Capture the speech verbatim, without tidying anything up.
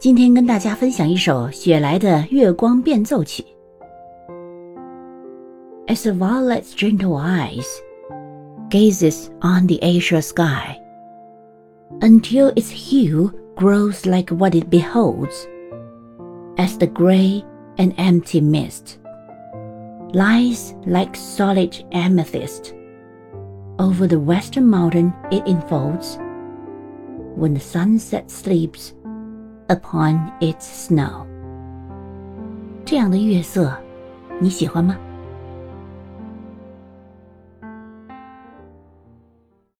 今天跟大家分享一首雪莱的月光变奏曲。 As a violet's gentle eyes gazes on the azure sky, until its hue grows like what it beholds, as the gray and empty mist lies like solid amethyst over the western mountain it enfolds, when the sunset sleeps upon its snow. 这样的月色，你喜欢吗？